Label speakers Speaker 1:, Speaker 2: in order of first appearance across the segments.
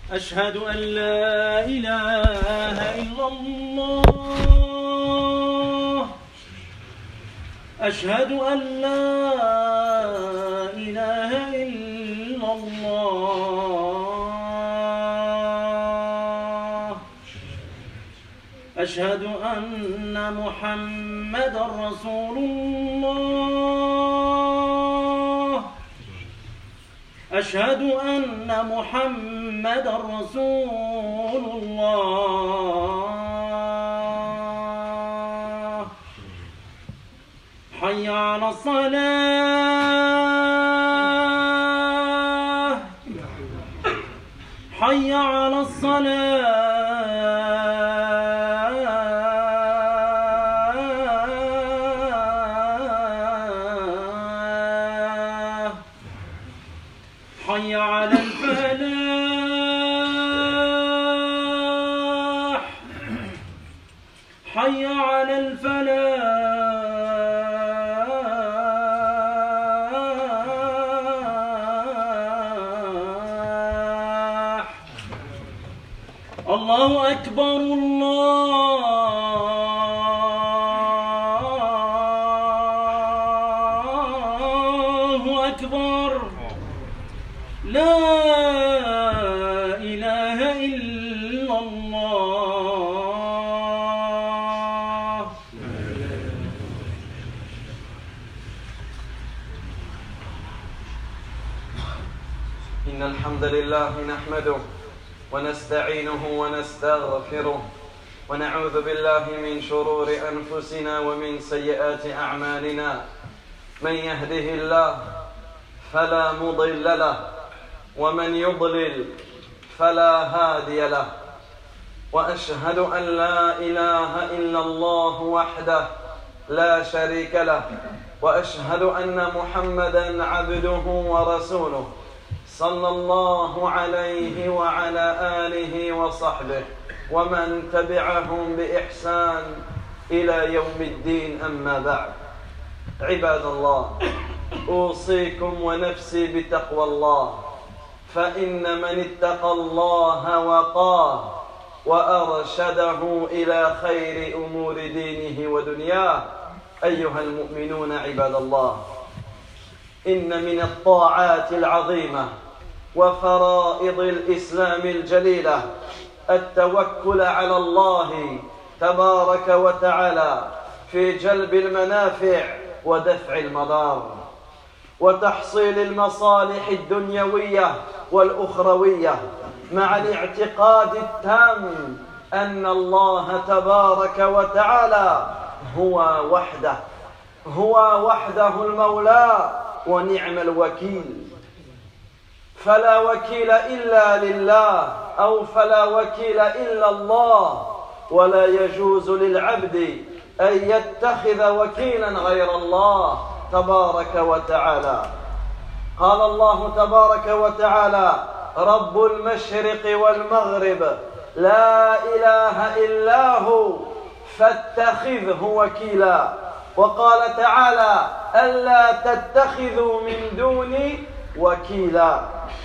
Speaker 1: أشهد أن لا إله إلا الله أشهد أن لا إله إلا الله أشهد أن محمدا رسول الله أشهد أن محمدا رسول الله حي على الصلاة حي على الصلاة حي على الفلاح حي على الفلاح الله أكبر الله أكبر لا إله إلا الله
Speaker 2: إن الحمد لله نحمده ونستعينه ونستغفره ونعوذ بالله من شرور أنفسنا ومن سيئات أعمالنا من يهده الله فلا مضل له ومن يضلل فلا هادي له وأشهد أن لا إله إلا الله وحده لا شريك له وأشهد أن محمدًا عبده ورسوله صلى الله عليه وعلى آله وصحبه ومن تبعهم بإحسان إلى يوم الدين أما بعد عباد الله أوصيكم ونفسي بتقوى الله فإن من اتقى الله وقاه وأرشده إلى خير أمور دينه ودنياه أيها المؤمنون عباد الله إن من الطاعات العظيمة وفرائض الإسلام الجليلة التوكل على الله تبارك وتعالى في جلب المنافع ودفع المضار وتحصيل المصالح الدنيوية والأخروية مع الاعتقاد التام أن الله تبارك وتعالى هو وحده المولى ونعم الوكيل فلا وكيل إلا لله أو فلا وكيل إلا الله ولا يجوز للعبد أن يتخذ وكيلا غير الله تبارك وتعالى قال الله تبارك وتعالى رب المشرق والمغرب لا إله إلا هو فاتخذه وكيلا وقال تعالى ألا تتخذوا من دوني وكيلا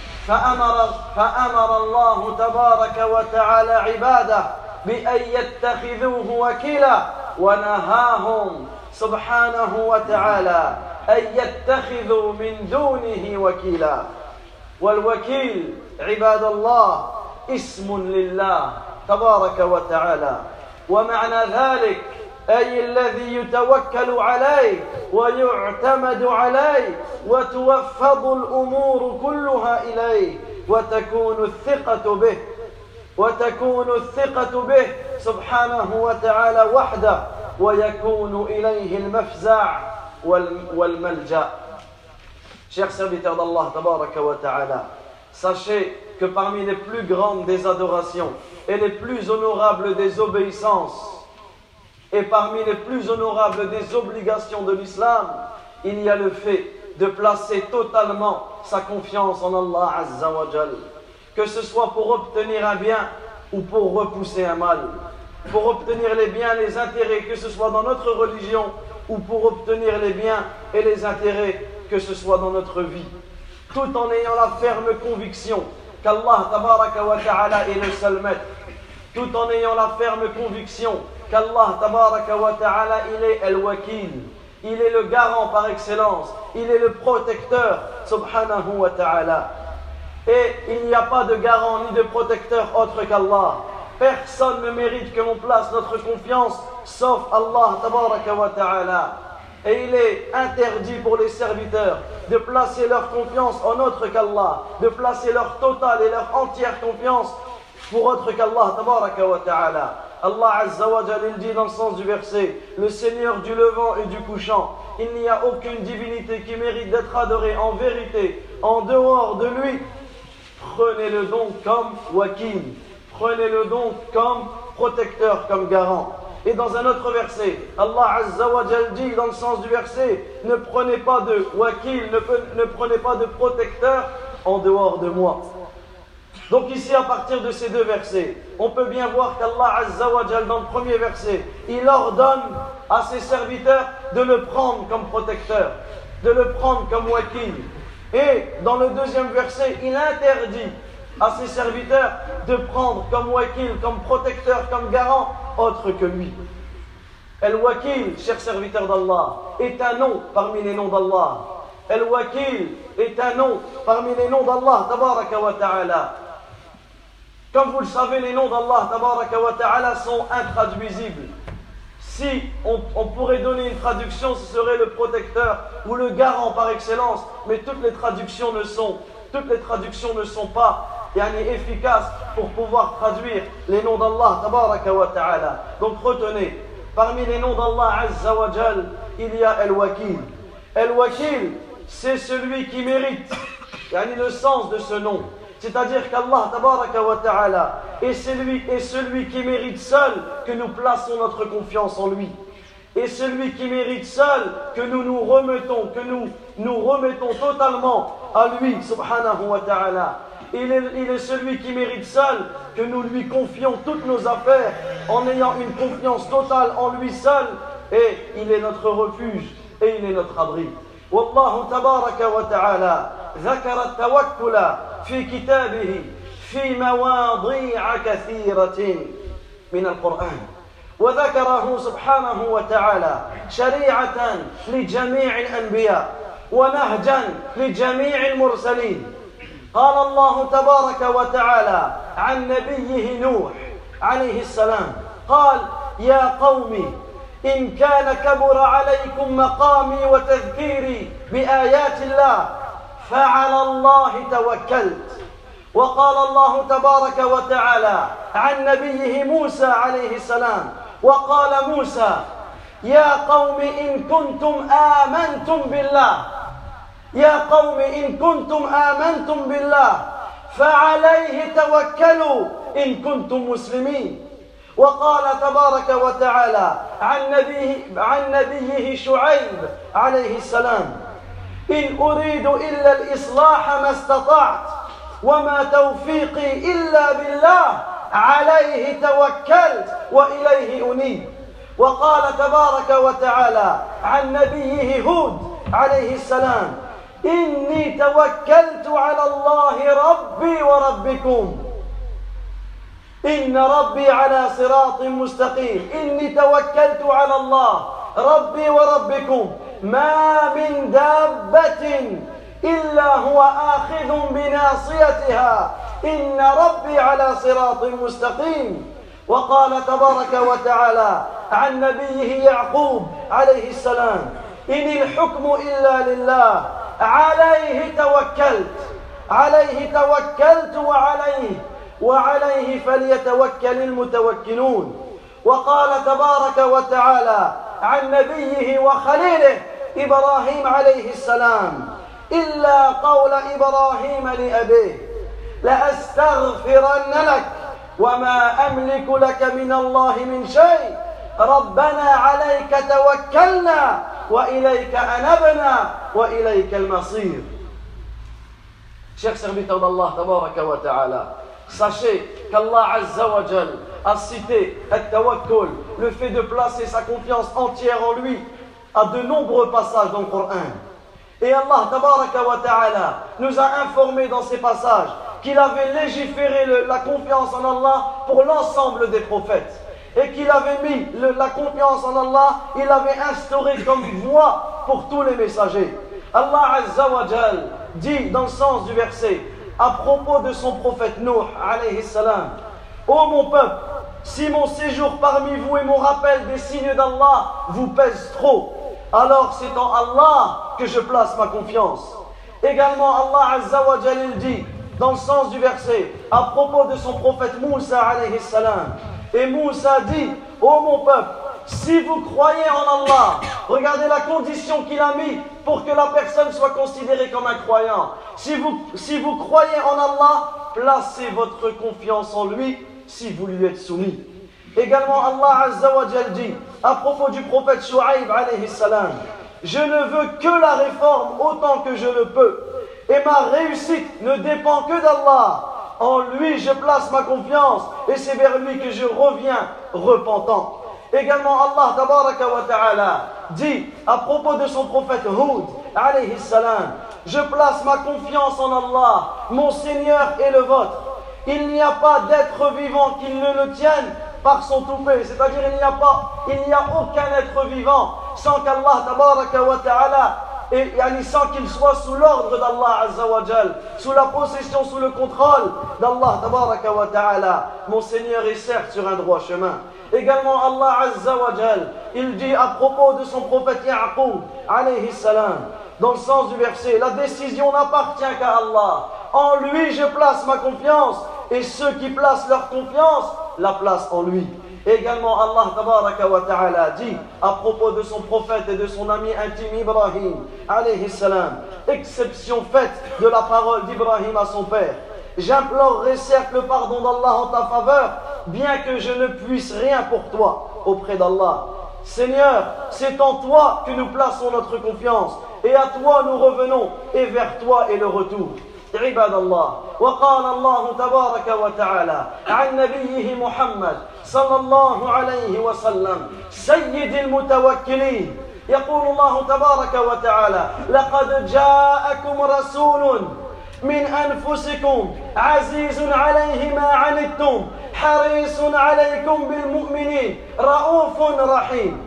Speaker 2: فأمر الله تبارك وتعالى عباده بأن يتخذوه وكيلا ونهاهم سبحانه وتعالى أن يتخذوا من دونه وكيلا والوكيل عباد الله اسم لله تبارك وتعالى ومعنى ذلك أي الذي يتوكل عليه ويعتمد عليه وتوفض الأمور كلها إليه وتكون الثقة به سبحانه وتعالى وحده ويكون إليه المفزع والملجأ. Chers serviteurs d'Allah tabaraka wa ta'ala, sachez que parmi les plus grandes des adorations et les plus honorables des obéissances et parmi les plus honorables des obligations de l'islam, il y a le fait de placer totalement sa confiance en Allah Azza wa Jal, que ce soit pour obtenir un bien ou pour repousser un mal, pour obtenir les biens, les intérêts, que ce soit dans notre religion ou pour obtenir les biens et les intérêts, que ce soit dans notre vie, tout en ayant la ferme conviction qu'Allah tabaraka wa ta'ala est le seul maître, tout en ayant la ferme conviction qu'Allah tabaraka wa ta'ala, il est al-wakil, il est le garant par excellence, il est le protecteur, subhanahu wa ta'ala. Et il n'y a pas de garant ni de protecteur autre qu'Allah. Personne ne mérite que l'on place notre confiance sauf Allah tabaraka wa ta'ala. Et il est interdit pour les serviteurs de placer leur confiance en autre qu'Allah, de placer leur totale et leur entière confiance pour autre qu'Allah tabaraka wa ta'ala. Allah Azza wa Jalla, il dit dans le sens du verset: le Seigneur du levant et du couchant, il n'y a aucune divinité qui mérite d'être adorée en vérité en dehors de lui. Prenez-le donc comme wakil, prenez-le donc comme protecteur, comme garant. Et dans un autre verset, Allah Azza wa Jalla dit dans le sens du verset: ne prenez pas de wakil, ne prenez pas de protecteur en dehors de moi. Donc ici, à partir de ces deux versets, on peut bien voir qu'Allah Azza wa Jalla, dans le premier verset, il ordonne à ses serviteurs de le prendre comme protecteur, de le prendre comme wakil. Et dans le deuxième verset, il interdit à ses serviteurs de prendre comme wakil, comme protecteur, comme garant, autre que lui. Al-Wakil, chers serviteurs d'Allah, est un nom parmi les noms d'Allah. Al-Wakil est un nom parmi les noms d'Allah, tabaraka wa ta'ala. Comme vous le savez, les noms d'Allah tabaraka wa ta'ala sont intraduisibles. Si on pourrait donner une traduction, ce serait le protecteur ou le garant par excellence, mais toutes les traductions ne sont pas efficaces pour pouvoir traduire les noms d'Allah tabaraka wa ta'ala. Donc retenez, parmi les noms d'Allah Azza wa Jal, il y a Al-Wakil. Al-Wakil, c'est celui qui mérite le sens de ce nom. C'est-à-dire qu'Allah tabaraka wa ta'ala est celui qui mérite seul que nous plaçons notre confiance en lui. Et celui qui mérite seul que nous remettons totalement à lui, subhanahu wa ta'ala. Il est celui qui mérite seul que nous lui confions toutes nos affaires en ayant une confiance totale en lui seul. Et il est notre refuge et il est notre abri. Wallahu tabaraka wa ta'ala ذكر التوكل في كتابه في مواضيع كثيرة من القرآن وذكره سبحانه وتعالى شريعة لجميع الأنبياء ونهجا لجميع المرسلين. قال الله تبارك وتعالى عن نبيه نوح عليه السلام قال: يا قوم إن كان كبر عليكم مقامي وتذكيري بآيات الله فعلى الله توكلت. وقال الله تبارك وتعالى عن نبيه موسى عليه السلام وقال موسى: يا قوم إن كنتم آمنتم بالله يا قوم إن كنتم آمنتم بالله فعليه توكلوا إن كنتم مسلمين. وقال تبارك وتعالى عن نبيه شعيب عليه السلام: إن أريد إلا الإصلاح ما استطعت وما توفيقي إلا بالله عليه توكلت وإليه أنيب. وقال تبارك وتعالى عن نبيه هود عليه السلام: إني توكلت على الله ربي وربكم إن ربي على صراط مستقيم. إني توكلت على الله ربي وربكم ما من دابة إلا هو آخذ بناصيتها إن ربي على صراط مستقيم. وقال تبارك وتعالى عن نبيه يعقوب عليه السلام: إن الحكم إلا لله عليه توكلت وعليه فليتوكل المتوكلون. وقال تبارك وتعالى عن نبيه وخليله إبراهيم عليه السلام: إلا قول إبراهيم لأبيه لأستغفرن لك وما أملك لك من الله من شيء ربنا عليك توكلنا وإليك أنبنا وإليك المصير. Chers serviteurs d'Allah tabaraka wa ta'ala, sachez qu'Allah Azza wa Jal a cité at-tawakkul, le fait de placer sa confiance entière en lui, à de nombreux passages dans le Coran. Et Allah tabaraka wa ta'ala nous a informé dans ces passages qu'il avait légiféré la confiance en Allah pour l'ensemble des prophètes. Et qu'il avait mis la confiance en Allah, il avait instauré comme voie pour tous les messagers. Allah Azza wa Jal dit dans le sens du verset, à propos de son prophète Nuh, alayhi salam, ô mon peuple, si mon séjour parmi vous et mon rappel des signes d'Allah vous pèse trop, alors c'est en Allah que je place ma confiance. Également, Allah Azza wa Jal dit, dans le sens du verset, à propos de son prophète Moussa, alayhi salam, et Moussa dit, ô mon peuple, si vous croyez en Allah, regardez la condition qu'il a mis pour que la personne soit considérée comme un croyant. Si vous croyez en Allah, placez votre confiance en lui si vous lui êtes soumis. Également, Allah Azza wa Jal dit, à propos du prophète Shu'aib alayhi salam, je ne veux que la réforme autant que je le peux, et ma réussite ne dépend que d'Allah. En lui je place ma confiance, et c'est vers lui que je reviens repentant. Également, Allah tabaraka wa ta'ala dit à propos de son prophète Hud alayhi salam, je place ma confiance en Allah, mon Seigneur et le vôtre. Il n'y a pas d'être vivant qui ne le tienne par son toupet, c'est-à-dire il n'y a aucun être vivant sans qu'Allah tabaraka wa ta'ala, et sans qu'il soit sous l'ordre d'Allah Azza wa Jal, sous la possession, sous le contrôle d'Allah tabaraka wa ta'ala. Mon Seigneur est certes sur un droit chemin. Également, Allah Azza wa Jal, il dit à propos de son prophète Ya'qub alayhi salam, dans le sens du verset, la décision n'appartient qu'à Allah. En lui je place ma confiance, et ceux qui placent leur confiance la placent en lui. Également, Allah tabaraka wa ta'ala dit à propos de son prophète et de son ami intime Ibrahim alayhi salam, exception faite de la parole d'Ibrahim à son père, j'implorerai certes le pardon d'Allah en ta faveur, bien que je ne puisse rien pour toi auprès d'Allah. Seigneur, c'est en toi que nous plaçons notre confiance, et à toi nous revenons, et vers toi est le retour. عباد الله، وقال الله تبارك وتعالى عن نبيه محمد صلى الله عليه وسلم سيد المتوكلين، يقول الله تبارك وتعالى لقد جاءكم رسول من أنفسكم عزيز عليه ما عنتم حريص عليكم بالمؤمنين رؤوف رحيم،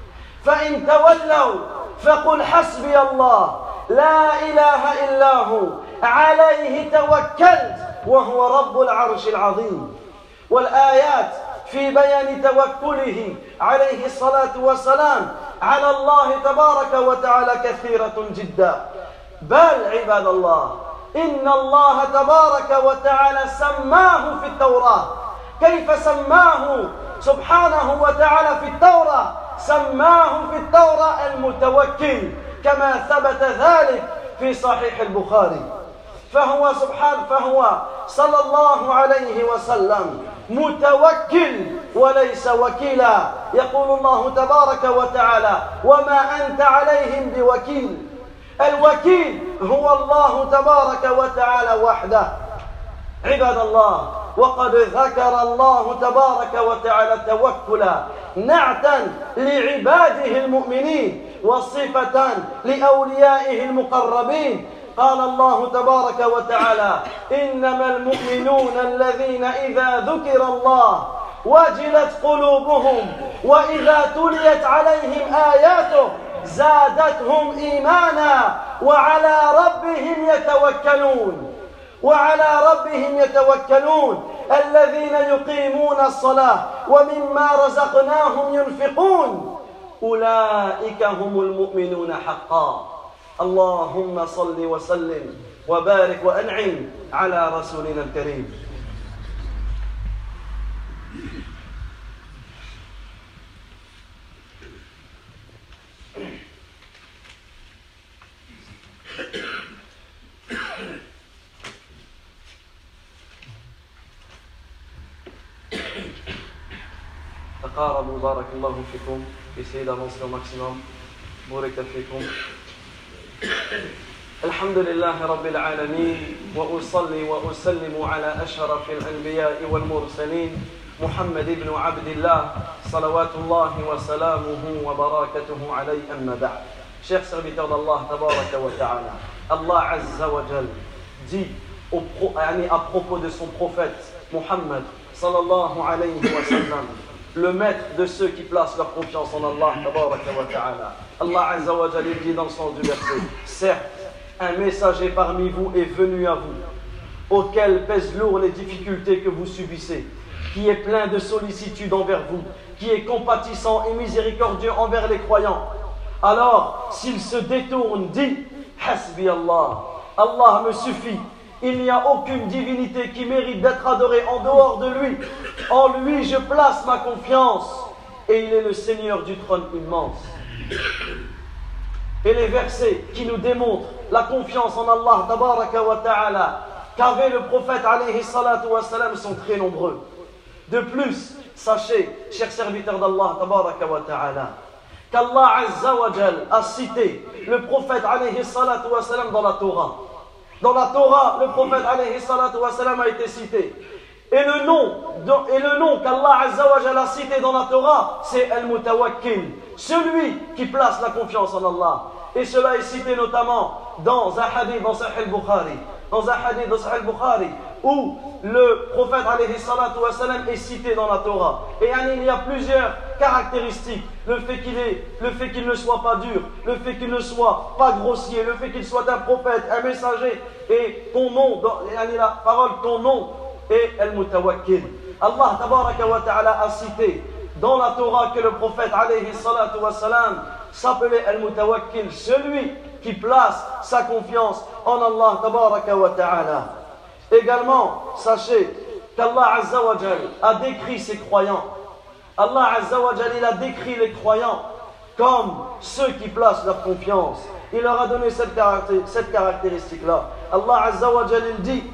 Speaker 2: فإن تولوا فقل حسبي الله لا إله إلا هو عليه توكلت وهو رب العرش العظيم. والآيات في بيان توكله عليه الصلاة والسلام على الله تبارك وتعالى كثيرة جدا، بل عباد الله إن الله تبارك وتعالى سماه في التوراة. كيف سماه سبحانه وتعالى في التوراة؟ سماه في التوراة المتوكل، كما ثبت ذلك في صحيح البخاري. فهو صلى الله عليه وسلم متوكل وليس وكيلا. يقول الله تبارك وتعالى وما أنت عليهم بوكيل. الوكيل هو الله تبارك وتعالى وحده. عباد الله، وقد ذكر الله تبارك وتعالى التوكل نعتا لعباده المؤمنين وصفة لأوليائه المقربين. قال الله تبارك وتعالى إنما المؤمنون الذين إذا ذكر الله وجلت قلوبهم وإذا تليت عليهم آياته زادتهم إيمانا وعلى ربهم يتوكلون الذين يقيمون الصلاة ومما رزقناهم ينفقون أولئك هم المؤمنون حقا. اللهم صل وسلم وبارك وأنعم على رسولنا الكريم. تقاربوا بارك الله فيكم. Essayez d'avancer au maximum. بارك فيكم. الحمد لله رب العالمين، وأصلي وأسلم على أشرف الأنبياء والمرسلين محمد بن عبد الله صلوات الله وسلامه وبركاته عليه، أما بعد. Chers serviteurs d'Allah tabaraka wa ta'ala, Allah Azza wa Jal dit à propos de son prophète Muhammad sallallahu alayhi wa sallam, le maître de ceux qui placent leur confiance en Allah tabaraka wa ta'ala. Allah azza wa jalla dit dans le sens du verset: certes, un messager parmi vous est venu à vous, auquel pèsent lourd les difficultés que vous subissez, qui est plein de sollicitude envers vous, qui est compatissant et miséricordieux envers les croyants. Alors, s'il se détourne, dit: Hasbi Allah, Allah me suffit. Il n'y a aucune divinité qui mérite d'être adorée en dehors de lui. En lui, je place ma confiance. Et il est le Seigneur du trône immense. Et les versets qui nous démontrent la confiance en Allah tabaraka wa ta'ala qu'avait le prophète alayhi salatu wa salam sont très nombreux. De plus, sachez, chers serviteurs d'Allah tabaraka wa ta'ala, qu'Allah azza wa jal a cité le prophète alayhi salatu wa salam dans la Torah. Dans la Torah, le prophète alayhi salatu wa salam a été cité. Et le nom qu'Allah azza wa jal a cité dans la Torah, c'est Al-Mutawakkil, celui qui place la confiance en Allah. Et cela est cité notamment dans un hadith dans Sahih al-Bukhari. Dans un hadith dans Sahih al-Bukhari, où le prophète alayhi salatu wa salam est cité dans la Torah. Et il y a plusieurs caractéristiques. Le fait qu'il ne soit pas dur, le fait qu'il ne soit pas grossier, le fait qu'il soit un prophète, un messager, et ton nom, la parole, ton nom est Al-Mutawakkil. Allah tabaraka wa ta'ala a cité dans la Torah que le prophète alayhi salatu wa salam s'appelait Al-Mutawakkil, celui qui place sa confiance en Allah tabaraka wa ta'ala. Également, sachez qu'Allah azza wa jal a décrit ses croyants. Allah azza wa jal, il a décrit les croyants comme ceux qui placent leur confiance. Il leur a donné cette caractéristique-là. Allah azza wa jal, il dit,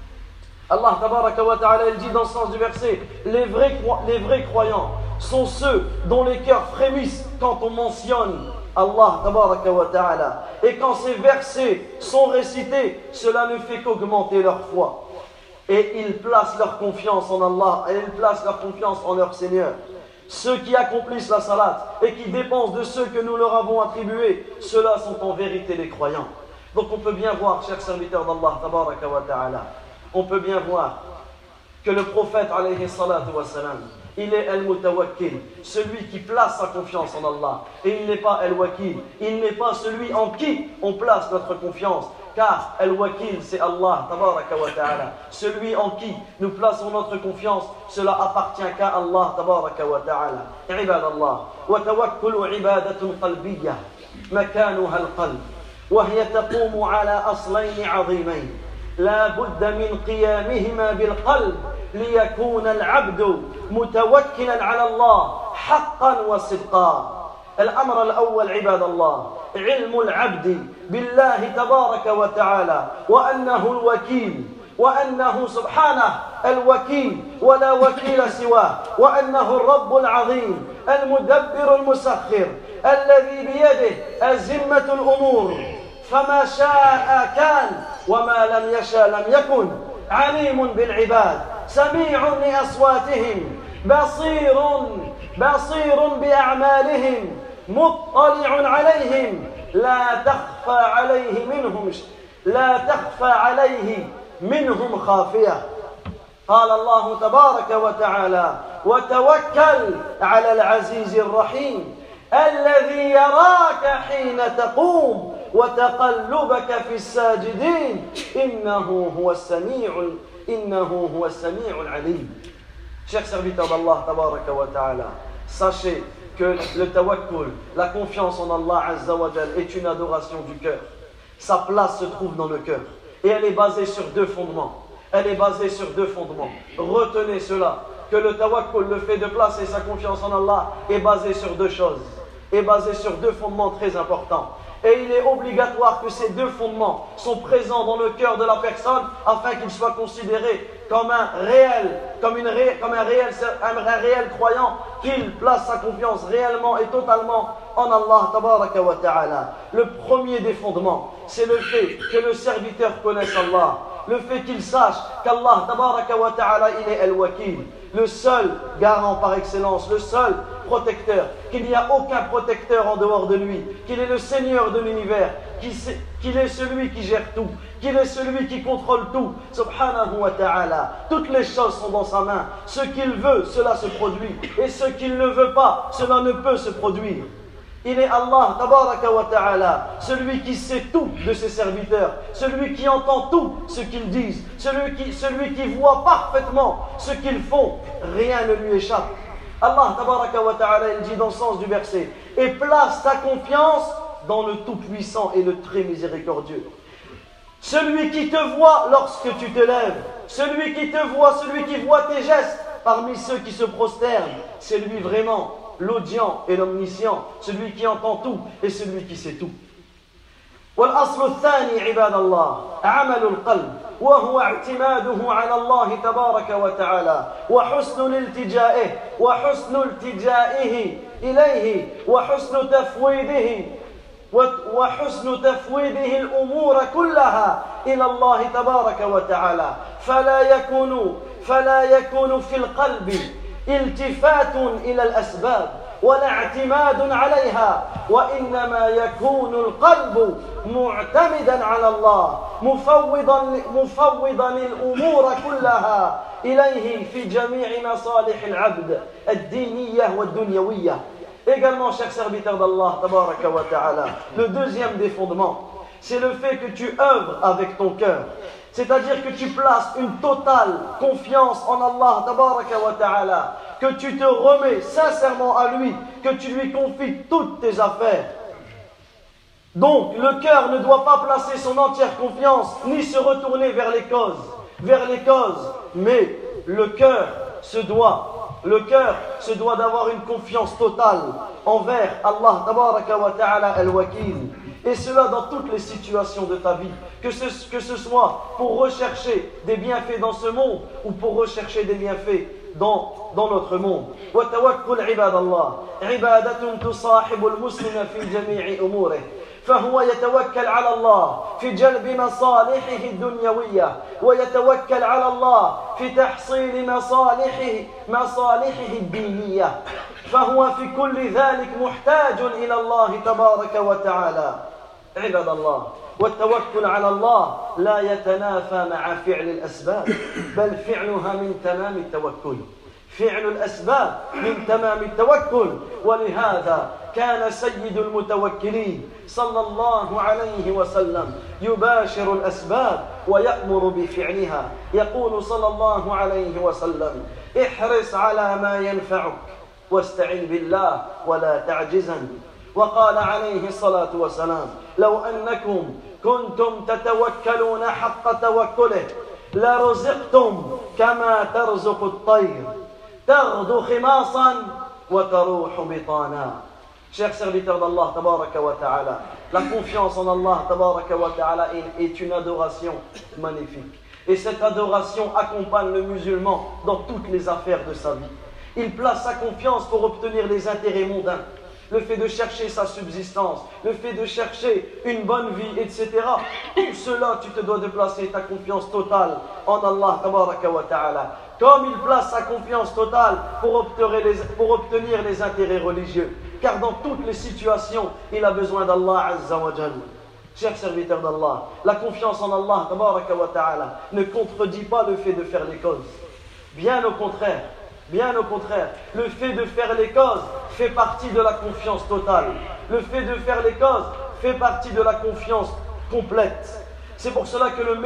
Speaker 2: Allah tabaraka wa ta'ala, il dit dans le sens du verset: les vrais croyants sont ceux dont les cœurs frémissent quand on mentionne Allah tabaraka wa ta'ala. Et quand ces versets sont récités, cela ne fait qu'augmenter leur foi. Et ils placent leur confiance en Allah, et ils placent leur confiance en leur Seigneur. Ceux qui accomplissent la salat et qui dépensent de ceux que nous leur avons attribués, ceux-là sont en vérité les croyants. Donc on peut bien voir, chers serviteurs d'Allah tabaraka wa ta'ala, on peut bien voir que le prophète alayhi salatu wa salam, il est Al-Mutawakkil, celui qui place sa confiance en Allah. Et il n'est pas Al-Wakil, il n'est pas celui en qui on place notre confiance. Car Al-Wakil, c'est Allah, tabaraka wa ta'ala. Celui en qui nous plaçons notre confiance, cela appartient qu'à Allah, tabaraka wa ta'ala. Ibadallah, wa tawakkulu ibadatun qalbiyya, makanuha al-qalb, wa hiya taqumu ala aslayn 'azimayn. لا بد من قيامهما بالقلب ليكون العبد متوكلا على الله حقا وصدقا. الأمر الأول عباد الله علم العبد بالله تبارك وتعالى وأنه الوكيل، وأنه سبحانه الوكيل ولا وكيل سواه، وأنه الرب العظيم المدبر المسخر الذي بيده أزمة الأمور، فما شاء كان وما لم يشاء لم يكن. عليم بالعباد، سميع لأصواتهم، بصير بأعمالهم، مطلع عليهم، لا تخفى عليه منهم خافية. قال الله تبارك وتعالى: وتوكل على العزيز الرحيم الذي يراك حين تقوم وتقلبك في الساجدين إنه هو السميع العليم. Chers serviteurs d'Allah tabaraka wa ta'ala, sachez que le tawakkul, la confiance en Allah azza wa jal, est une adoration du cœur. Sa place se trouve dans le cœur et elle est basée sur deux fondements. Retenez cela, que le tawakkul, le fait de placer sa confiance en Allah, est basé sur deux choses, est basé sur deux fondements très importants. Et il est obligatoire que ces deux fondements sont présents dans le cœur de la personne afin qu'il soit considéré comme un réel croyant, qu'il place sa confiance réellement et totalement en Allah tabaraka wa ta'ala. Le premier des fondements, c'est le fait que le serviteur connaisse Allah, le fait qu'il sache qu'Allah tabaraka wa ta'ala, il est Al-Wakil, le seul garant par excellence, le seul protecteur, qu'il n'y a aucun protecteur en dehors de lui, qu'il est le Seigneur de l'univers, qu'il est celui qui gère tout, qu'il est celui qui contrôle tout, subhanahu wa ta'ala. Toutes les choses sont dans sa main. Ce qu'il veut, cela se produit. Et ce qu'il ne veut pas, cela ne peut se produire. Il est Allah, tabaraka wa ta'ala, celui qui sait tout de ses serviteurs, celui qui entend tout ce qu'ils disent, celui qui voit parfaitement ce qu'ils font. Rien ne lui échappe. Allah, tabaraka wa ta'ala, il dit dans le sens du verset, et place ta confiance dans le Tout-Puissant et le Très Miséricordieux. Celui qui te voit lorsque tu te lèves, celui qui te voit, celui qui voit tes gestes parmi ceux qui se prosternent, c'est lui vraiment l'audient et l'omniscient, celui qui entend tout et celui qui sait tout. والأصل الثاني عباد الله عمل القلب وهو اعتماده على الله تبارك وتعالى وحسن التجائه إليه وحسن تفويضه الأمور كلها إلى الله تبارك وتعالى فلا يكون في القلب التفات إلى الأسباب ولا اعتماد عليها وإنما يكون القلب معتمدا على الله مفوضا الأمور كلها إليه في جميع مصالح العبد الدينية والدنيوية. Également, chers serviteurs d'Allah, tabaraka wa ta'ala, le deuxième des fondements, c'est le fait que tu œuvres avec ton cœur. C'est-à-dire que tu places une totale confiance en Allah, tabaraka wa ta'ala, que tu te remets sincèrement à lui, que tu lui confies toutes tes affaires. Donc, le cœur ne doit pas placer son entière confiance, ni se retourner vers les causes, mais le cœur se doit d'avoir une confiance totale envers Allah tabaraka wa ta'ala al-Wakil. Et cela dans toutes les situations de ta vie, que ce soit pour rechercher des bienfaits dans ce monde ou pour rechercher des bienfaits dans notre monde. Wa tawakkul ibadallah, ibadatun tusahibu al-muslima fi jami'i umurih. فهو يتوكل على الله في جلب مصالحه الدنيوية ويتوكل على الله في تحصيل مصالحه الدينية فهو في كل ذلك محتاج إلى الله تبارك وتعالى. عباد الله، والتوكل على الله لا يتنافى مع فعل الأسباب بل فعلها من تمام التوكل. فعل الأسباب من تمام التوكل. ولهذا كان سيد المتوكلين صلى الله عليه وسلم يباشر الأسباب ويأمر بفعلها. يقول صلى الله عليه وسلم: احرص على ما ينفعك واستعن بالله ولا تعجزن. وقال عليه الصلاة والسلام: لو أنكم كنتم تتوكلون حق توكله لرزقتم كما ترزق الطير تغدو خماصا وتروح بطانا. Chers serviteurs d'Allah tabaraka wa ta'ala, la confiance en Allah tabaraka wa ta'ala est une adoration magnifique. Et cette adoration accompagne le musulman dans toutes les affaires de sa vie. Il place sa confiance pour obtenir les intérêts mondains, le fait de chercher sa subsistance, le fait de chercher une bonne vie, etc. Tout cela, tu te dois de placer ta confiance totale en Allah tabaraka wa ta'ala. Comme il place sa confiance totale pour obtenir les intérêts religieux. Car dans toutes les situations, il a besoin d'Allah Azza wa Jal. Chers serviteurs d'Allah, la confiance en Allah tabaraka wa ta'ala ne contredit pas le fait de faire les causes. Bien au contraire, le fait de faire les causes fait partie de la confiance totale. Le fait de faire les causes fait partie de la confiance complète. C'est pour cela que le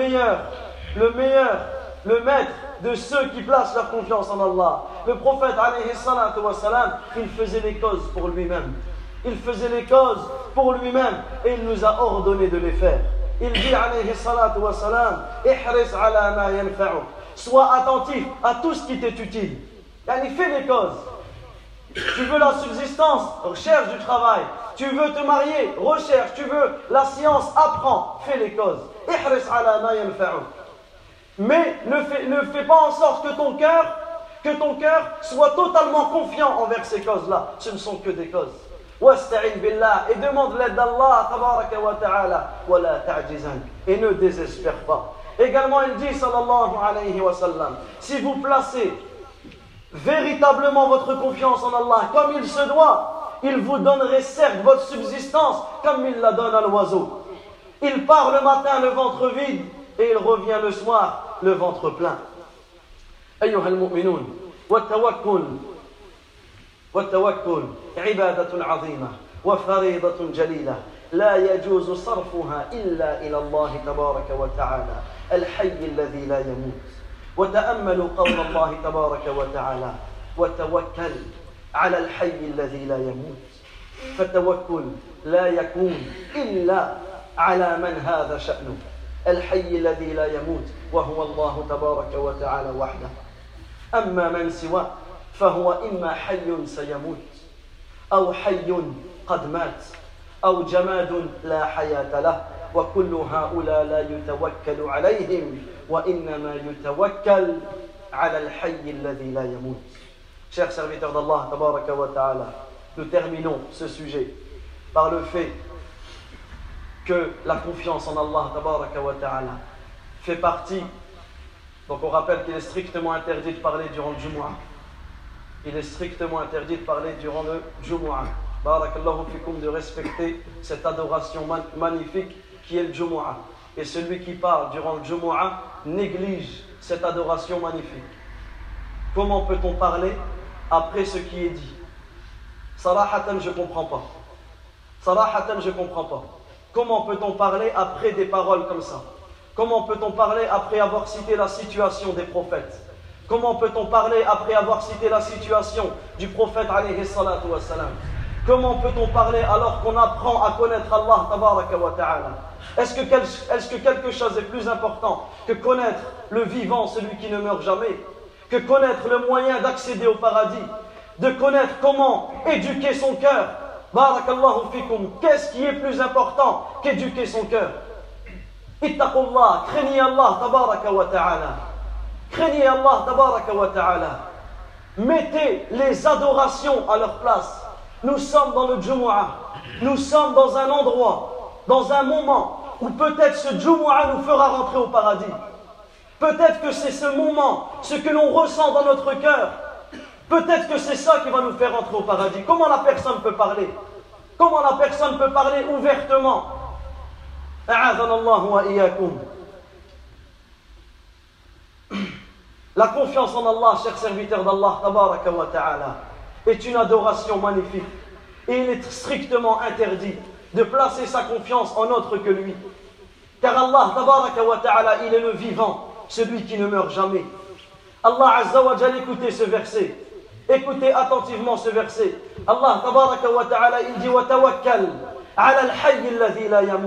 Speaker 2: maître de ceux qui placent leur confiance en Allah, le prophète alayhi salatu wa salam, il faisait les causes pour lui-même. Il faisait les causes pour lui-même et il nous a ordonné de les faire. Il dit alayhi salatu wa salam: ihris ala ma yanfa'uk. Sois attentif à tout ce qui t'est utile. Yani, fais les causes. Tu veux la subsistance, recherche du travail. Tu veux te marier, recherche. Tu veux la science, apprends. Fais les causes. Ihris ala ma yanfa'uk. Mais ne fais pas en sorte que ton cœur soit totalement confiant envers ces causes-là. Ce ne sont que des causes. Wasta'in billah, et demande l'aide d'Allah tabaraka wa ta'ala, wa la ta'jizan, et ne désespère pas. Également, il dit sallallahu alayhi wa sallam: si vous placez véritablement votre confiance en Allah comme il se doit, il vous donnerait certes votre subsistance comme il la donne à l'oiseau. Il part le matin le ventre vide et il revient le soir le ventre plein. أيها المؤمنون والتوكل عبادة عظيمة وفريضة جليلة لا يجوز صرفها إلا إلى الله تبارك وتعالى الحي الذي لا يموت. وتأملوا قول الله تبارك وتعالى وتوكل على الحي الذي لا يموت. فالتوكل لا يكون إلا على من هذا شأنه الحي الذي لا يموت وهو الله تبارك وتعالى وحده. أما من سواه فهو إما حي سيموت أو حي قد مات أو جماد لا حياة له وكل هؤلاء لا يتوكل عليهم وإنما يتوكل على الحي الذي لا يموت. Chers serviteurs d'Allah tabaraka wa ta'ala, nous terminons ce sujet par le fait que la confiance en Allah tabaraka wa ta'ala fait partie. Donc on rappelle qu'il est strictement interdit de parler durant le Jumu'ah. Il est strictement interdit de parler durant le Jumu'ah. Barakallahu fikum, de respecter cette adoration magnifique qui est le Jumu'ah. Et celui qui parle durant le Jumu'ah néglige cette adoration magnifique. Comment peut-on parler après ce qui est dit? Sarahatan, je ne comprends pas. Sarahatan, je ne comprends pas. Comment peut-on parler après des paroles comme ça? Comment peut-on parler après avoir cité la situation des prophètes? Comment peut-on parler après avoir cité la situation du prophète alayhi salatu wa salam? Comment peut-on parler alors qu'on apprend à connaître Allah tabaraka wa ta'ala? Est-ce que quelque chose est plus important que connaître le vivant, celui qui ne meurt jamais, que connaître le moyen d'accéder au paradis, de connaître comment éduquer son cœur? Barakallahu fikum, qu'est-ce qui est plus important qu'éduquer son cœur? Ittaqullah, craignez Allah tabaraka wa ta'ala. Craignez Allah tabaraka wa ta'ala. Mettez les adorations à leur place. Nous sommes dans le Jumu'ah. Nous sommes dans un endroit, dans un moment où peut-être ce Jumu'ah nous fera rentrer au paradis. Peut-être que c'est ce moment, ce que l'on ressent dans notre cœur. Peut-être que c'est ça qui va nous faire rentrer au paradis. Comment la personne peut parler? Comment la personne peut parler ouvertement? La confiance en Allah, chers serviteurs d'Allah, tabaraka wa ta'ala, est une adoration magnifique. Et il est strictement interdit de placer sa confiance en autre que lui. Car Allah, tabaraka wa ta'ala, il est le vivant, celui qui ne meurt jamais. Allah Azza wa Jal, écoutez ce verset. Écoutez attentivement ce verset. Allah, tabaraka wa ta'ala, il dit « Wa tawakkal ala al-hayy alladhi la yamut »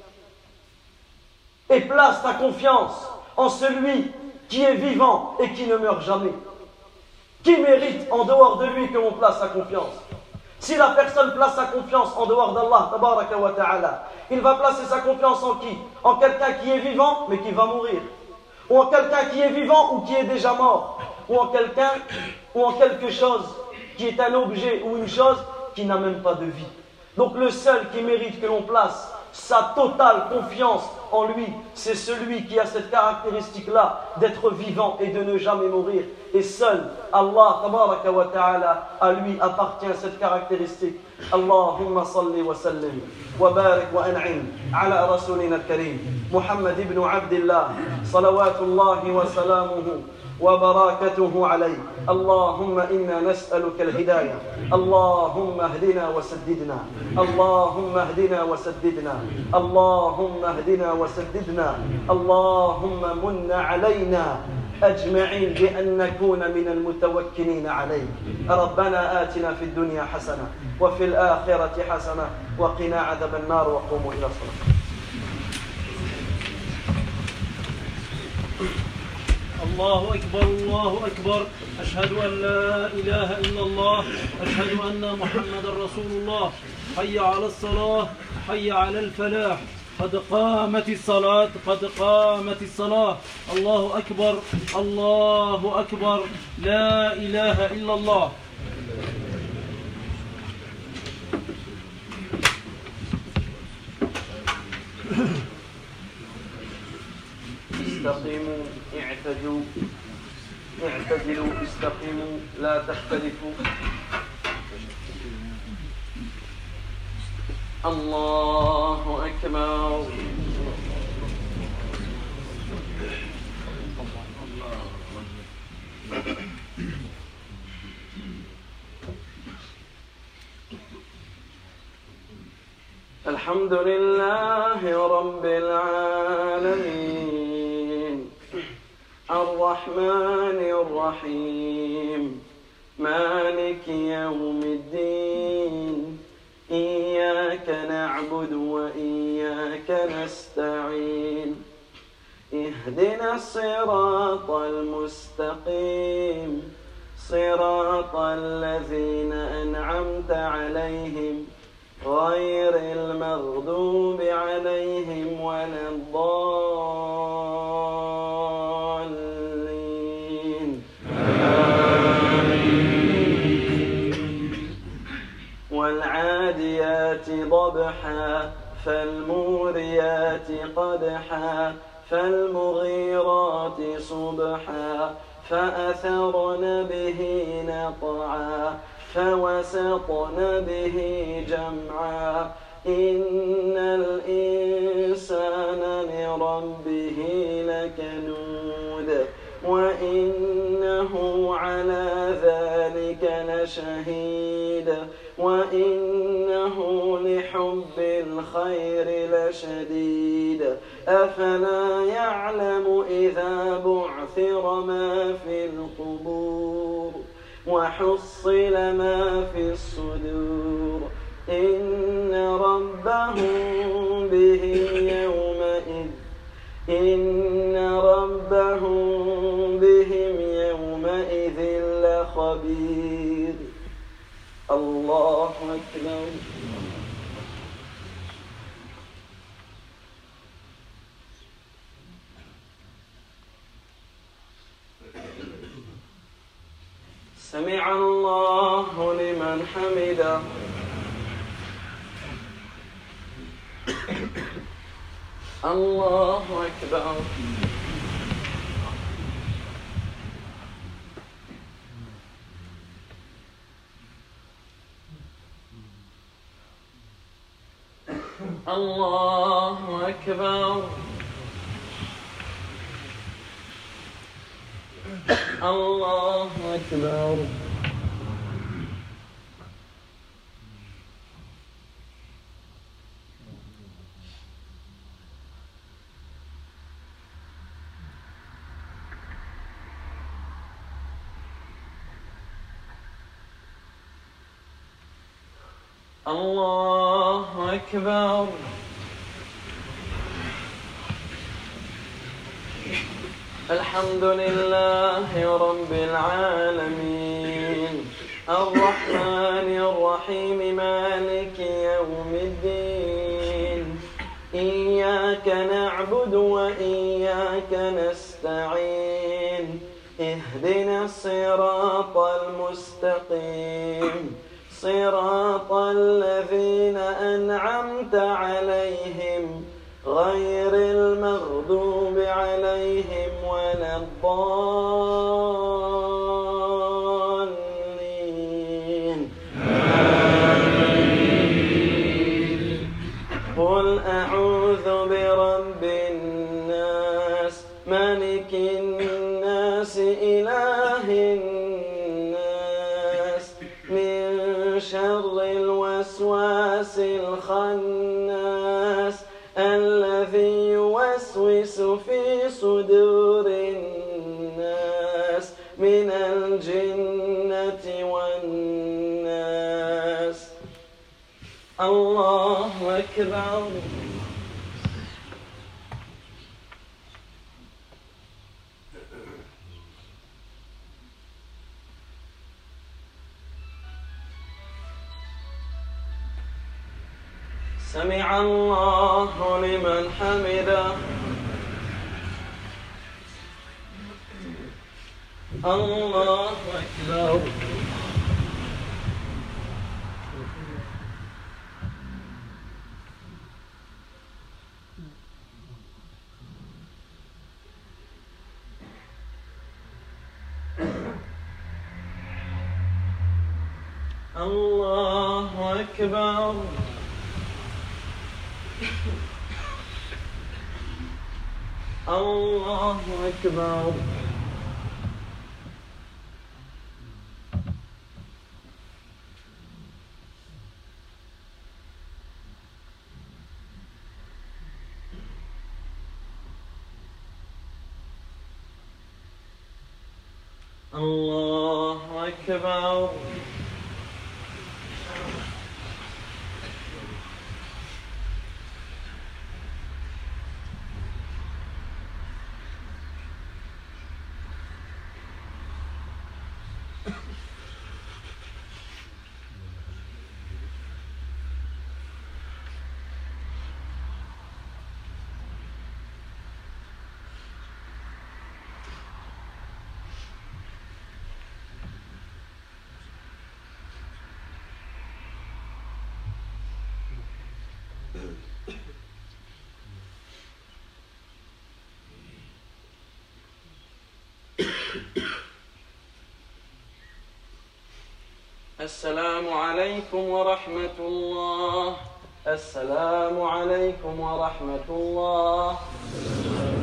Speaker 2: et place ta confiance en celui qui est vivant et qui ne meurt jamais. Qui mérite en dehors de lui que l'on place sa confiance? Si la personne place sa confiance en dehors d'Allah, tabaraka wa ta'ala, il va placer sa confiance en qui? En quelqu'un qui est vivant mais qui va mourir, ou en quelqu'un qui est vivant ou qui est déjà mort, ou en quelqu'un ou en quelque chose qui est un objet ou une chose qui n'a même pas de vie. Donc le seul qui mérite que l'on place sa totale confiance en lui, c'est celui qui a cette caractéristique-là d'être vivant et de ne jamais mourir. Et seul Allah tabaraka wa ta'ala, à lui appartient cette caractéristique. Allahumma salli wa sallim wa barik wa an'im ala rasulina al-karim Muhammad ibn Abdillah salawatullahi wa salamuhu وبركاته عليه. اللهم إنا نسألك الهداية. اللهم اهدنا وسددنا. اللهم اهدنا وسددنا. اللهم اهدنا وسددنا. اللهم من علينا أجمعين بأن نكون من المتوكلين عليك. ربنا آتنا في الدنيا حسنة وفي الآخرة حسنة وقنا عذاب النار وقوموا إلى الصلاة.
Speaker 1: الله أكبر الله أكبر أشهد أن لا إله إلا الله أشهد أن محمد رسول الله حي على الصلاة حي على الفلاح قد قامت الصلاة قد قامت الصلاة الله أكبر الله أكبر لا إله إلا الله.
Speaker 2: استقيموا اعتدوا اعتدلوا استقيموا لا تختلفوا. الله أكبر. الحمد لله رب العالمين الرحمن الرحيم مالك يوم الدين إياك نعبد وإياك نستعين اهدنا الصراط المستقيم صراط الذين أنعمت عليهم غير المغضوب عليهم ولا الضالين والعاديات ضبحا فالموريات قدحا فالمغيرات صبحا فأثرن به نقعا فوسطن به جمعا إن الإنسان لربه لكنود وإنه على ذلك لشهيد وإنه لحب الخير لشديد أفلا يعلم إذا بعثر ما في القبور وحصل ما في الصدور إن ربهم بهم يومئذ لخبير. الله أكبر. سمع الله لمن حمده. الله أكبر. الله أكبر. الله أكبر. الله أكبر. الحمد لله رب العالمين الرحمن الرحيم مالك يوم الدين إياك نعبد وإياك نستعين اهدنا الصراط المستقيم صراط الذين أنعمت عليهم غير المغضوب عليهم ولا الضالين. قل أعوذ برب الناس ملك الناس إله الناس من شر الوسواس الخناس الذي يوسوس في صدور الناس من الجنة والناس. الله أكبر. سمع الله لمن حمده. الله أكبر. الله أكبر. الله أكبر. الله أكبر. السلام عليكم ورحمة الله. السلام عليكم ورحمة الله.